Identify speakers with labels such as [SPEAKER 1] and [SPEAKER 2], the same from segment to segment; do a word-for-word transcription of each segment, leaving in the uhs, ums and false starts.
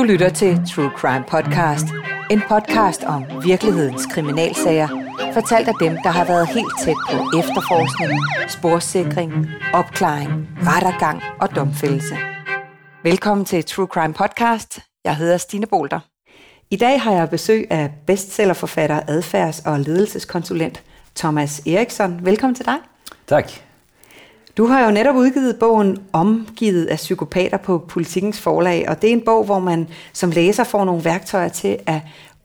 [SPEAKER 1] lytter til True Crime Podcast. En podcast om virkelighedens kriminalsager, fortalt af dem, der har været helt tæt på efterforskning, sporsikring, opklaring, rettergang og domfældelse. Velkommen til True Crime Podcast. Jeg hedder Stine Bolter. I dag har jeg besøg af bestsellerforfatter, adfærds- og ledelseskonsulent Thomas Eriksson. Velkommen til dig.
[SPEAKER 2] Tak.
[SPEAKER 1] Du har jo netop udgivet bogen Omgivet af psykopater på Politikens Forlag, og det er en bog, hvor man som læser får nogle værktøjer til at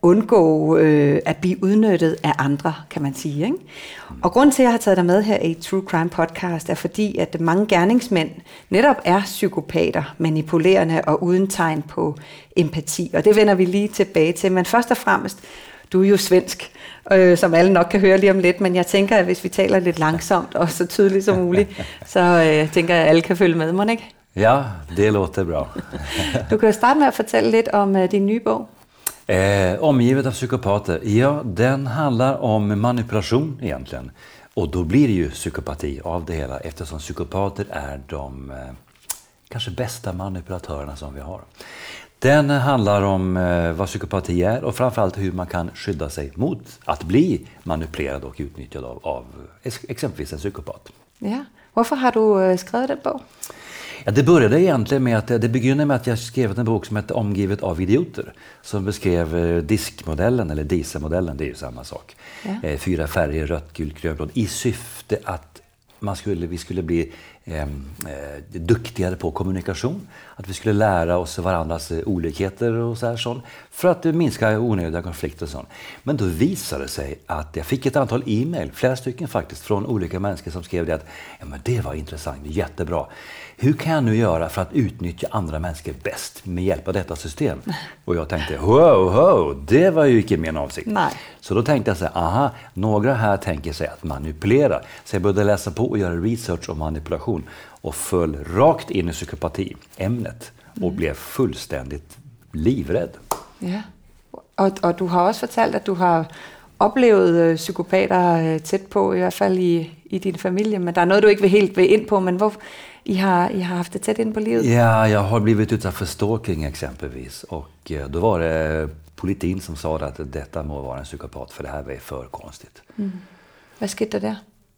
[SPEAKER 1] undgå øh, at blive udnyttet af andre, kan man sige. Ikke? Og grunden til, at jeg har taget dig med her i True Crime Podcast, er fordi, at mange gerningsmænd netop er psykopater, manipulerende og uden tegn på empati. Og det vender vi lige tilbage til. Men først og fremmest, du er jo svensk, øh, som alle nok kan høre lige om lidt, men jeg tænker, at hvis vi taler lidt langsomt og så tydeligt som muligt, så øh, tænker jeg, at alle kan følge med, må ikke?
[SPEAKER 2] Ja, det låter bra.
[SPEAKER 1] Du kan jo starte med at fortælle lidt om øh, din nye bog.
[SPEAKER 2] Eh, omgivet av psykopater. Ja, den handlar om manipulation egentligen. Och då blir det ju psykopati av det hela, eftersom psykopater är de eh, kanske bästa manipulatörerna som vi har. Den handlar om eh, vad psykopati är och framförallt hur man kan skydda sig mot att bli manipulerad och utnyttjad av, av exempelvis en psykopat.
[SPEAKER 1] Ja. Varför har du eh, skrivit den bok?
[SPEAKER 2] Ja, det började egentligen med att det begynner med att jag skrev en bok som heter Omgivet av idioter, som beskrev eh, diskmodellen eller dieselmodellen, det är ju samma sak. Ja. Eh, fyra färger, rött, gult, grönt, blått, i syfte att man skulle, vi skulle bli eh, eh, duktigare på kommunikation, att vi skulle lära oss varandras eh, olikheter och så här sånt, för att eh, minska onödiga konflikter och sånt. Men då visade det sig att jag fick ett antal e-mail, flera stycken faktiskt, från olika människor som skrev det att ja, men det var intressant, jättebra. Hur kan jag nu göra för att utnyttja andra människor bäst med hjälp av detta system? Och jag tänkte, wow, wow, det var ju inte min avsikt. Nej. Så då tänkte jag så här, aha, några här tänker sig att manipulera. Så jag började läsa på och göra research om manipulation och föll rakt in i psykopati-ämnet och mm. blev fullständigt livrädd.
[SPEAKER 1] Ja, och, och du har också fortalt att du har oplevet psykopater tæt på, i hvert fald i, i din familie, men der er noget, du ikke vil helt vil ind på, men hvor I har, I har haft det tæt ind på livet?
[SPEAKER 2] Ja, jag har blivit utsatt för stalking exempelvis, och då var det politin som sa att detta må vara en psykopat, för det här var för konstigt.
[SPEAKER 1] Mm. Hvad skete der der?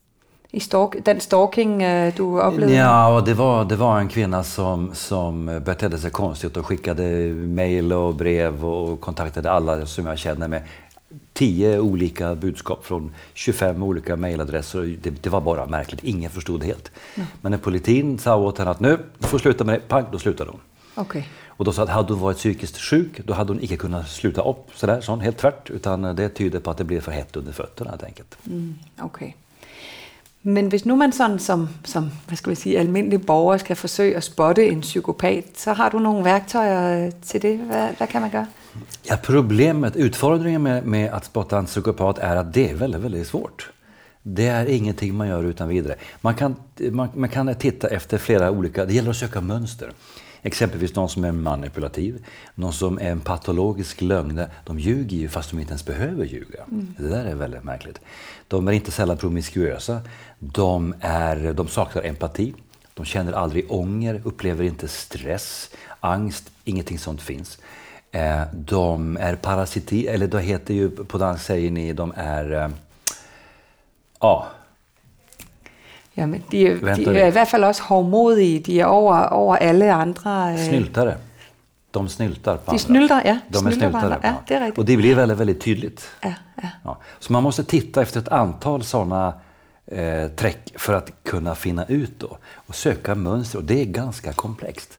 [SPEAKER 1] I stalk, den stalking du oplevde?
[SPEAKER 2] Ja, och det var, det var en kvinna som, som betedde sig konstigt och skickade mejl och brev och kontaktade alla som jag känner med. Tio olika budskap från tjugofem olika mejladresser. Det, det var bara märkligt. Ingen förstod det helt. Mm. Men när politin sa åt henne att nu, du får sluta med det, pang, då slutade hon.
[SPEAKER 1] Okay.
[SPEAKER 2] Och då sa att hade hon varit psykiskt sjuk, då hade hon inte kunnat sluta upp sådär, sån, helt tvärt. Utan det tyder på att det blir för hett under fötterna helt enkelt.
[SPEAKER 1] Mm, okay. Men hvis nu man sådan som, som hvad skal vi sige, almindelig borger skal forsøge at spotte en psykopat, så har du nogle værktøjer til det. Hvad, hvad kan man gøre?
[SPEAKER 2] Ja, problemet, utfordringen med, med att spotta en psykopat är att det är väldigt, väldigt svårt. Det är ingenting man gör utan vidare. Man kan, man, man kan titta efter flera olika, det gäller att söka mönster. Exempelvis någon som är manipulativ, någon som är en patologisk lögn. De ljuger ju fast de inte ens behöver ljuga. Mm. Det där är väldigt märkligt. De är inte sällan promiskuösa. De, är, de saknar empati. De känner aldrig ånger, upplever inte stress, angst, ingenting sånt finns. De är parasiti, eller då heter ju på dansk säger ni, de är ja.
[SPEAKER 1] Ja, men de, de er i hvert fald også hårdmodige. De er over, over alle andre.
[SPEAKER 2] Snyltare. De snyltar på
[SPEAKER 1] De snyltar, ja.
[SPEAKER 2] De är snyltare.
[SPEAKER 1] Ja, det är riktigt.
[SPEAKER 2] Och det blir väldigt, väldigt tydligt.
[SPEAKER 1] Ja, ja.
[SPEAKER 2] Ja. Så man måste titta efter ett antal sådana eh, träck för att kunna finna ut då. Och söka mönster, och det är ganska komplext.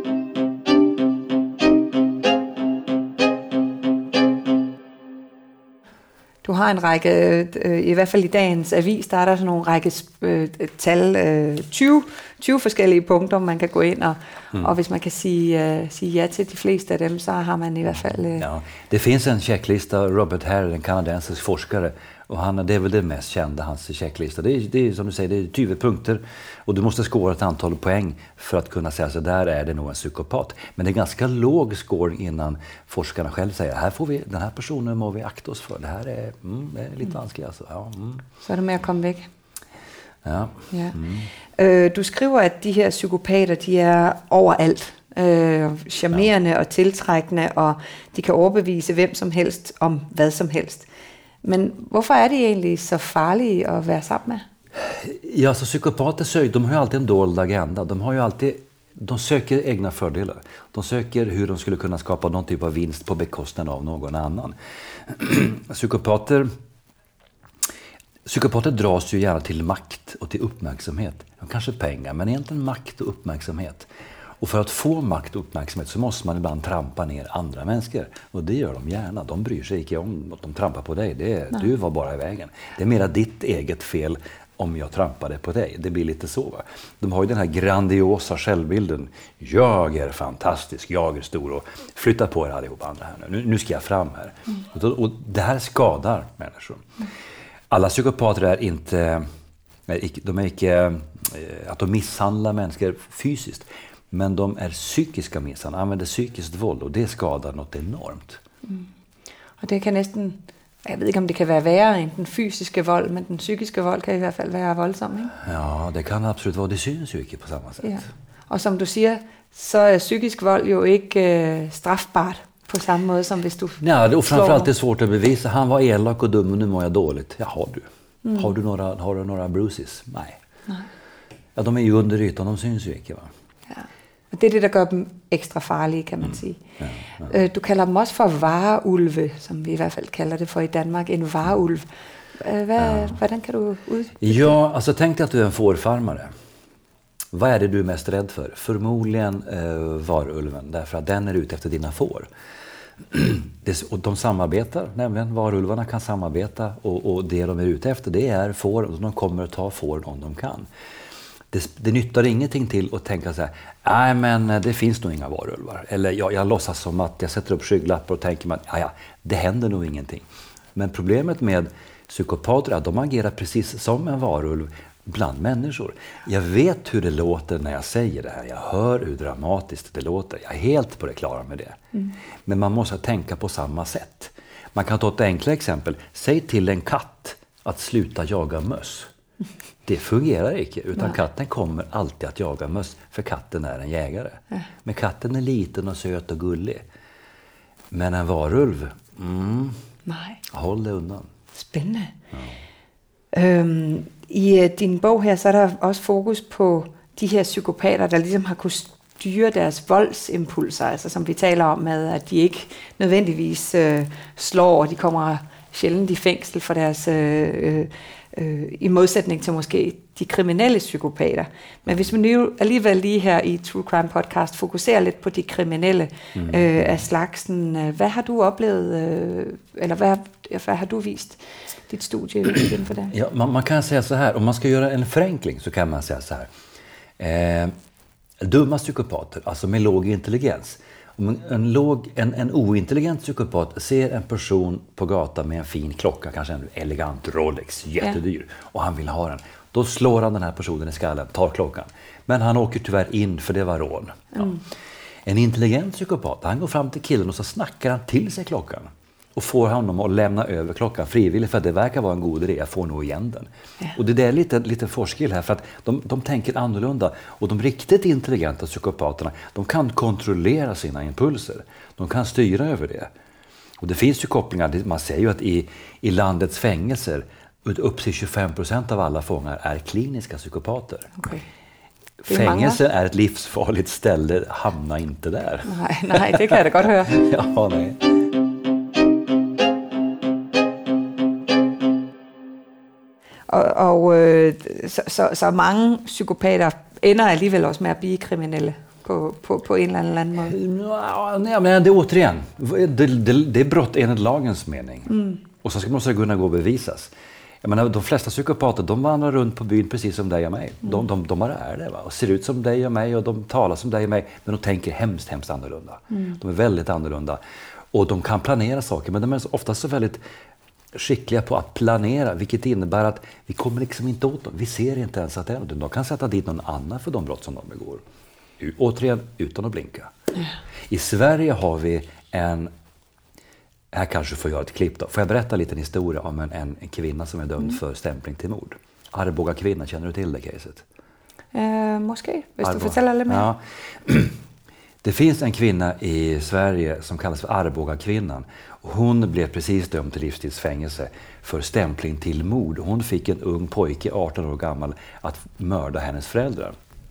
[SPEAKER 1] Du har en række, øh, i hvert fald i dagens avis, der er der sådan nogle række øh, tal, øh, tyve, tyve forskellige punkter, man kan gå ind, og, mm. og hvis man kan sige, øh, sige ja til de fleste af dem, så har man i hvert fald... Øh...
[SPEAKER 2] Ja, det finns en checklista, Robert Hare, en kanadensisk forskare, och han, det är väl det mest kända, hans checklista. Det är, det är som du säger, det är tjugo punkter, och du måste skåra ett antal poäng för att kunna säga så där är det nog en psykopat. Men det är ganska låg scoring innan forskarna själv säger här får vi, den här personen må vi akta oss för. Det här är, mm, det är lite mm. vanskligt alltså. Ja, mm.
[SPEAKER 1] Så är det med at komme væk.
[SPEAKER 2] Ja.
[SPEAKER 1] Ja. Mm. Øh, du skriver, at de her psykopater, de er overalt. øh, charmerende ja. og tiltrækkende, og de kan overbevise hvem som helst om hvad som helst. Men hvorfor er de egentlig så farlige at være sammen med?
[SPEAKER 2] Ja, så psykopater, de har ju alltid en dold agenda. De har ju alltid, de söker egna fördelar. De söker hur de skulle kunna skapa någon typ av vinst på bekostnad av någon annan. Psykopater, psykopater dras ju gärna till makt och till uppmärksamhet. Kanske pengar, men egentligen makt och uppmärksamhet. Och för att få makt och uppmärksamhet så måste man ibland trampa ner andra människor. Och det gör de gärna. De bryr sig inte om att de trampar på dig. Det är, du var bara i vägen. Det är mera ditt eget fel om jag trampade på dig. Det blir lite så. Va? De har ju den här grandiosa självbilden. Jag är fantastisk, jag är stor och flytta på er allihop andra här nu. Nu ska jag fram här. Mm. Och, och det här skadar människor. Mm. Alla psykopater är inte, de är inte att de misshandlar människor fysiskt. Men de är psykiska misshandlar, använder psykiskt våld och det skadar något enormt.
[SPEAKER 1] Mm. Och det kan nästan, jag vet inte om det kan vara värre än den fysiska våld, men den psykiska våld kan i alla fall vara våldsam, inte?
[SPEAKER 2] Ja, det kan absolut vara. Det syns ju inte på samma sätt. Ja.
[SPEAKER 1] Och som du säger, så är psykisk våld ju inte äh, straffbart på samma måde som hvis du
[SPEAKER 2] Nej, och framförallt är det svårt att bevisa. Han var elak och dum och nu mår jag dåligt. Ja, har du. Mm. Har du några, har du några bruises? Nej. Nej. Ja, de är ju under ytan, de syns ju inte, va? Ja.
[SPEAKER 1] Och det är det, der gør dem ekstra farlige, kan man mm. sige. Ja, ja. Du kalder dem også for vareulve, som vi i hvert fald kalder det for i Danmark, en vareulv. Hvad, ja. Hvordan kan du ud?
[SPEAKER 2] Ja, alltså tänk dig att du är en fårfarmare. Vad är det du är mest rädd för? Förmodligen eh, varulven, därför att den är ute efter dina får. Det, och de samarbetar, nämligen varulvarna kan samarbeta och, och det de är ute efter det är får och de kommer att ta får om de kan. Det, det nyttar ingenting till att tänka så här, nej men det finns nog inga varulvar. Eller jag, jag låtsas som att jag sätter upp skygglappar och tänker att ja, det händer nog ingenting. Men problemet med psykopater är att de agerar precis som en varulv bland människor. Jag vet hur det låter när jag säger det här. Jag hör hur dramatiskt det låter. Jag är helt på det klara med det. Mm. Men man måste tänka på samma sätt. Man kan ta ett enkelt exempel. Säg till en katt att sluta jaga möss. Det fungerar inte, utan Nej. Katten kommer alltid att jaga möss, för katten är en jägare. Ja. Men katten är liten och söt och gullig. Men en varulv, mm,
[SPEAKER 1] Nej.
[SPEAKER 2] håll det undan.
[SPEAKER 1] Spännande. Ja. Øhm, I din bog her, så er der også fokus på de her psykopater, der ligesom har kunnet styre deres voldsimpulser, altså som vi taler om med, at de ikke nødvendigvis øh, slår, og de kommer sjældent i fængsel for deres, øh, øh, i modsætning til måske de kriminelle psykopater. Men hvis man nu alligevel lige her i True Crime Podcast fokuserer lidt på de kriminelle mm. øh, af slagsen, øh, hvad har du oplevet, øh, eller hvad, hvad har du vist ditt studie inför det?
[SPEAKER 2] Ja, man, man kan säga så här, om man ska göra en förenkling så kan man säga så här. Eh, dumma psykopater, alltså med låg intelligens. Om en, låg, en, en ointelligent psykopat ser en person på gatan med en fin klocka, kanske en elegant Rolex, jättedyr, ja. Och han vill ha den. Då slår han den här personen i skallen, tar klockan. Men han åker tyvärr in för det var rån. Ja. Mm. En intelligent psykopat, han går fram till killen och så snackar han till sig klockan. Och får honom att lämna över klockan frivilligt, för att det verkar vara en god idé, jag får nog igen den. Ja. Och det är lite, lite forskil här, för att de, de tänker annorlunda. Och de riktigt intelligenta psykopaterna, de kan kontrollera sina impulser. De kan styra över det. Och det finns ju kopplingar, man säger ju att i, i landets fängelser, upp till tjugofem procent av alla fångar är kliniska psykopater. Okay. Fängelse är ett livsfarligt ställe, hamna inte där.
[SPEAKER 1] Nej, nej, det kan jag godt høre.
[SPEAKER 2] Ja, nej.
[SPEAKER 1] Og, og øh, så, så, så mange psykopater ender alligevel også med at blive kriminelle på, på, på en eller anden måde.
[SPEAKER 2] Nej, men det är återigen, det, det, det är brott enligt lagens mening. Mm. Och så ska man kunna gå och bevisas. Jag menar, de flesta psykopater, de vandrar runt på byn precis som dig och mig. Mm. De, de, de bara är det, va? Och ser ut som dig och mig och de talar som dig och mig. Men de tänker hemskt, hemskt annorlunda. Mm. De är väldigt annorlunda. Och de kan planera saker, men de är ofta så väldigt skickliga på att planera, vilket innebär att vi kommer liksom inte åt dem. Vi ser inte ens att det är något. De kan sätta dit någon annan för de brott som de begår. Återigen, utan att blinka. Mm. I Sverige har vi en... Här kanske får jag ett klipp då. Får jag berätta lite en historia om en, en, en kvinna som är dömd mm. för stämpling till mord? Arboga kvinna, känner du till det caset?
[SPEAKER 1] Uh, måske, hvis Arboga. Du fortæller lidt mere. Ja.
[SPEAKER 2] Det finns en kvinna i Sverige som kallas för Arboga-kvinnan. Hon blev precis dömd till livstidsfängelse för stämpling till mord. Hon fick en ung pojke, arton år gammal, att mörda hennes föräldrar.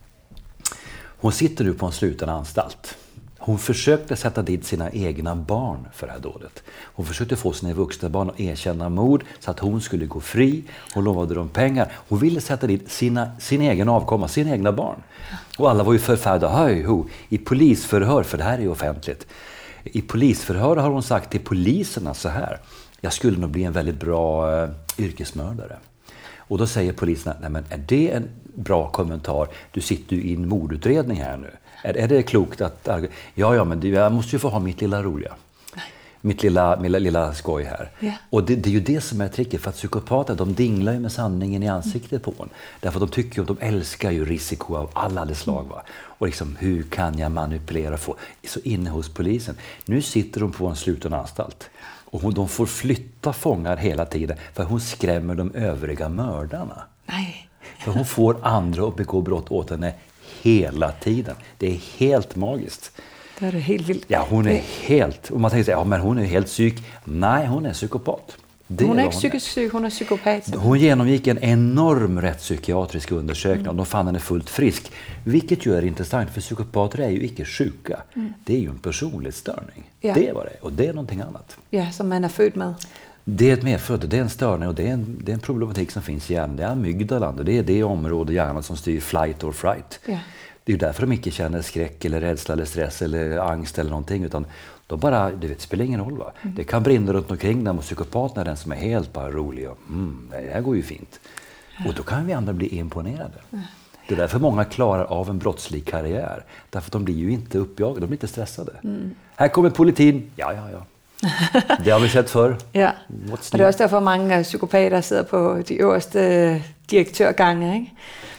[SPEAKER 2] Hon sitter nu på en sluten anstalt. Hon försökte sätta dit sina egna barn för det här dådet. Hon försökte få sina vuxna barn att erkänna mord så att hon skulle gå fri. Hon lovade dem pengar. Hon ville sätta dit sina, sin egen avkomma, sina egna barn. Och alla var ju förfärda. Höj, ho, i polisförhör, för det här är ju offentligt. I polisförhör har hon sagt till poliserna så här: jag skulle nog bli en väldigt bra uh, yrkesmördare. Och då säger poliserna: nej men är det en bra kommentar? Du sitter ju i en mordutredning här nu. Är, är det klokt att... Ja, ja, men det, jag måste ju få ha mitt lilla roliga. Mitt lilla, lilla, lilla skoj här. Yeah. Och det, det är ju det som är tricket, för att psykopater, de dinglar ju med sanningen i ansiktet på en. Därför att de tycker ju, de älskar ju risiko av alla dess slag. Va? Och liksom, hur kan jag manipulera och få... Så inne hos polisen. Nu sitter de på en sluten anstalt. Och hon, de får flytta fångar hela tiden, för hon skrämmer de övriga mördarna.
[SPEAKER 1] Nej.
[SPEAKER 2] För hon får andra att begå brott åt henne hela tiden. Det är helt magiskt.
[SPEAKER 1] Det är det helt vilt.
[SPEAKER 2] Ja, hon är helt... Och man tänker sig, ja men hon är helt psyk. Nej, hon är psykopat.
[SPEAKER 1] Det hon är inte psykisk psyk, hon är psykopat.
[SPEAKER 2] Hon genomgick en enorm rättspsykiatrisk undersökning mm. och de fann henne fullt frisk. Vilket ju är intressant, för psykopater är ju icke sjuka. Mm. Det är ju en personlighetsstörning. Ja. Det är vad det är. Och det är någonting annat.
[SPEAKER 1] Ja, som man är född med.
[SPEAKER 2] Det är ett medfödd, det är en störning och det är en, det är en problematik som finns i hjärnan. Det är amygdalan, det är det område i hjärnan som styr flight or fright. Ja. Det är ju därför de inte känner skräck eller rädsla eller stress eller angst eller någonting, utan de bara, det vet, spelar ingen roll va. Mm. Det kan brinna runt omkring dem och psykopaten är den som är helt bara rolig och mm, det här går ju fint. Ja. Och då kan vi andra bli imponerade. Ja. Det är därför många klarar av en brottslig karriär. Därför att de blir ju inte uppjagade, de blir inte stressade. Mm. Här kommer politin, ja ja ja. Det har vi sett förr.
[SPEAKER 1] Ja, och det är också därför många psykopater sitter på de överste direktörgångar, inte?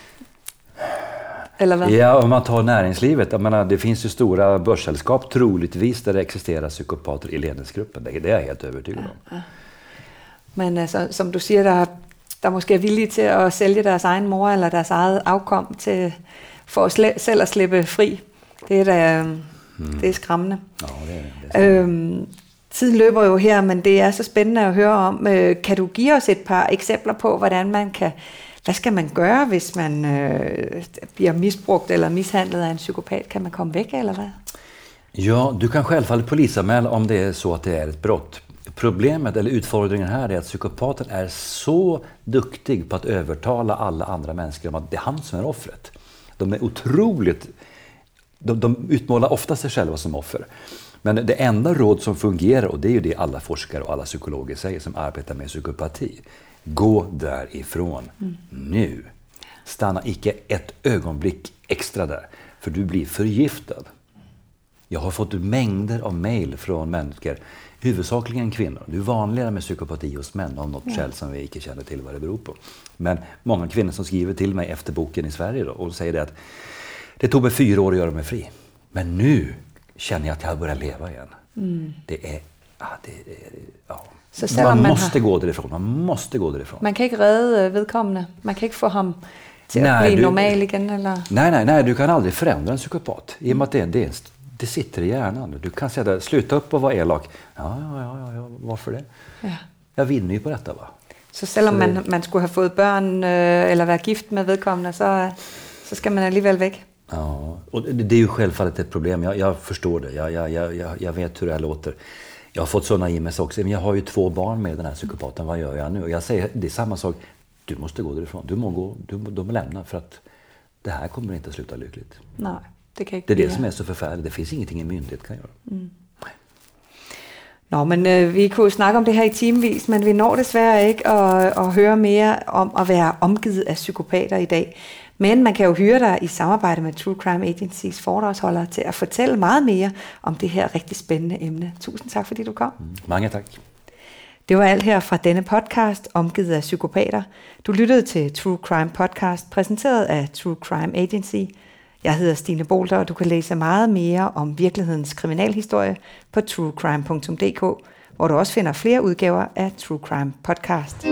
[SPEAKER 1] Eller vad?
[SPEAKER 2] Ja, om man tar näringslivet, jag menar, det finns ju stora börssällskap troligtvis där det existerar psykopater i ledningsgruppen. Det är jag helt övertygad om. Ja, ja.
[SPEAKER 1] Men alltså, som du säger, der, der måske er villige til at sælge deres egen mor eller deres eget afkom til, for at sl- selv at slippe fri. Det er da mm. det er skræmmende.
[SPEAKER 2] Ja, det er, det er
[SPEAKER 1] øhm, Tiden løber jo her, men det er så spændende at høre om. Kan du give os et par eksempler på, hvordan man kan, hvad skal man gøre, hvis man øh, bliver misbrugt eller mishandlet af en psykopat? Kan man komme væk, eller hvad?
[SPEAKER 2] Ja, du kan självfallet polisanmäla om det är så att det är ett brott. Problemet eller utfordringen här är att psykopaten är så duktig på att övertala alla andra människor om att det är han som är offret. De är otroligt... De, de utmålar ofta sig själva som offer. Men det enda råd som fungerar, och det är ju det alla forskare och alla psykologer säger som arbetar med psykopati. Gå därifrån mm. nu. Stanna icke ett ögonblick extra där, för du blir förgiftad. Jag har fått mängder av mejl från människor, huvudsakligen kvinnor. Det är vanligare med psykopati hos män av något ja. skäl som vi inte känner till vad det beror på. Men många kvinnor som skriver till mig efter boken i Sverige då, och säger det att det tog mig fyra år att göra mig fri. Men nu känner jag att jag börjar leva igen. Mm. Det är... Ja, det är ja. Så man, man måste har... gå därifrån. Man måste gå därifrån.
[SPEAKER 1] Man kan inte rädda vedkommende. Man kan inte få ham till nej, att bli du... normal igen. Eller?
[SPEAKER 2] Nej, nej, nej. Du kan aldrig förändra en psykopat. I och med att det, det, det sitter i hjärnan. Du kan säga det, sluta upp och vara elak. Ja, ja, ja, ja varför det? Ja. Jag vinner ju på detta, va?
[SPEAKER 1] Så selvom så... man, man skulle ha fått barn øh, eller vara gift med vedkommende, så, så ska man alligevel väck.
[SPEAKER 2] Ja, och det är ju självfallet ett problem. Jag, jag förstår det. Jag, jag, jag, jag vet hur det här låter. Jag har fått sådana i mig också. Men jag har ju två barn med den här psykopaten. Vad gör jag nu? Och jag säger, det är samma sak. Du måste gå därifrån. Du må gå. Du må, de må lämna för att det här kommer inte att sluta lyckligt.
[SPEAKER 1] Nej, det kan inte
[SPEAKER 2] Det är
[SPEAKER 1] det
[SPEAKER 2] som är så förfärligt. Det finns ingenting en myndighet kan göra. Mm.
[SPEAKER 1] Nå, men øh, vi kunne snakke om det her i timevis, men vi når desværre ikke at, at høre mere om at være omgivet af psykopater i dag. Men man kan jo hyre dig i samarbejde med True Crime Agencys foredragsholdere til at fortælle meget mere om det her rigtig spændende emne. Tusind tak, fordi du kom.
[SPEAKER 2] Mm, mange tak.
[SPEAKER 1] Det var alt her fra denne podcast, Omgivet af psykopater. Du lyttede til True Crime Podcast, præsenteret af True Crime Agency. Jeg hedder Stine Bolter, og du kan læse meget mere om virkelighedens kriminalhistorie på true crime punktum d k, hvor du også finder flere udgaver af True Crime Podcast.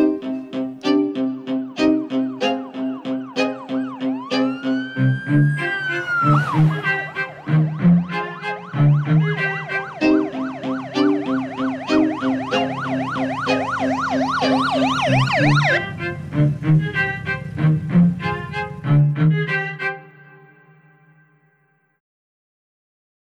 [SPEAKER 1] Hej.